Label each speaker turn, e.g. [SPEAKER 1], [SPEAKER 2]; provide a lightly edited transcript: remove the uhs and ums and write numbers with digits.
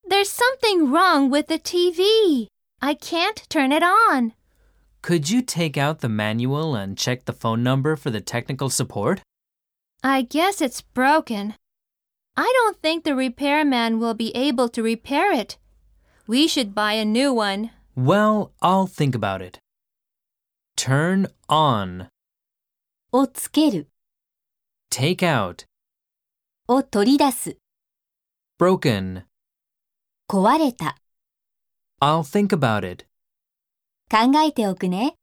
[SPEAKER 1] There's something wrong with the TV. I can't turn it on.
[SPEAKER 2] Could you take out the manual and check the phone number for the technical support?
[SPEAKER 1] I guess it's broken. I don't think the repairman will be able to repair it. We should buy a new one.
[SPEAKER 2] Well, I'll think about it. Turn on.
[SPEAKER 3] をつける
[SPEAKER 2] Take out.
[SPEAKER 3] を取り出す
[SPEAKER 2] Broken.
[SPEAKER 3] 壊れた
[SPEAKER 2] I'll think about it.
[SPEAKER 3] 考えておくね。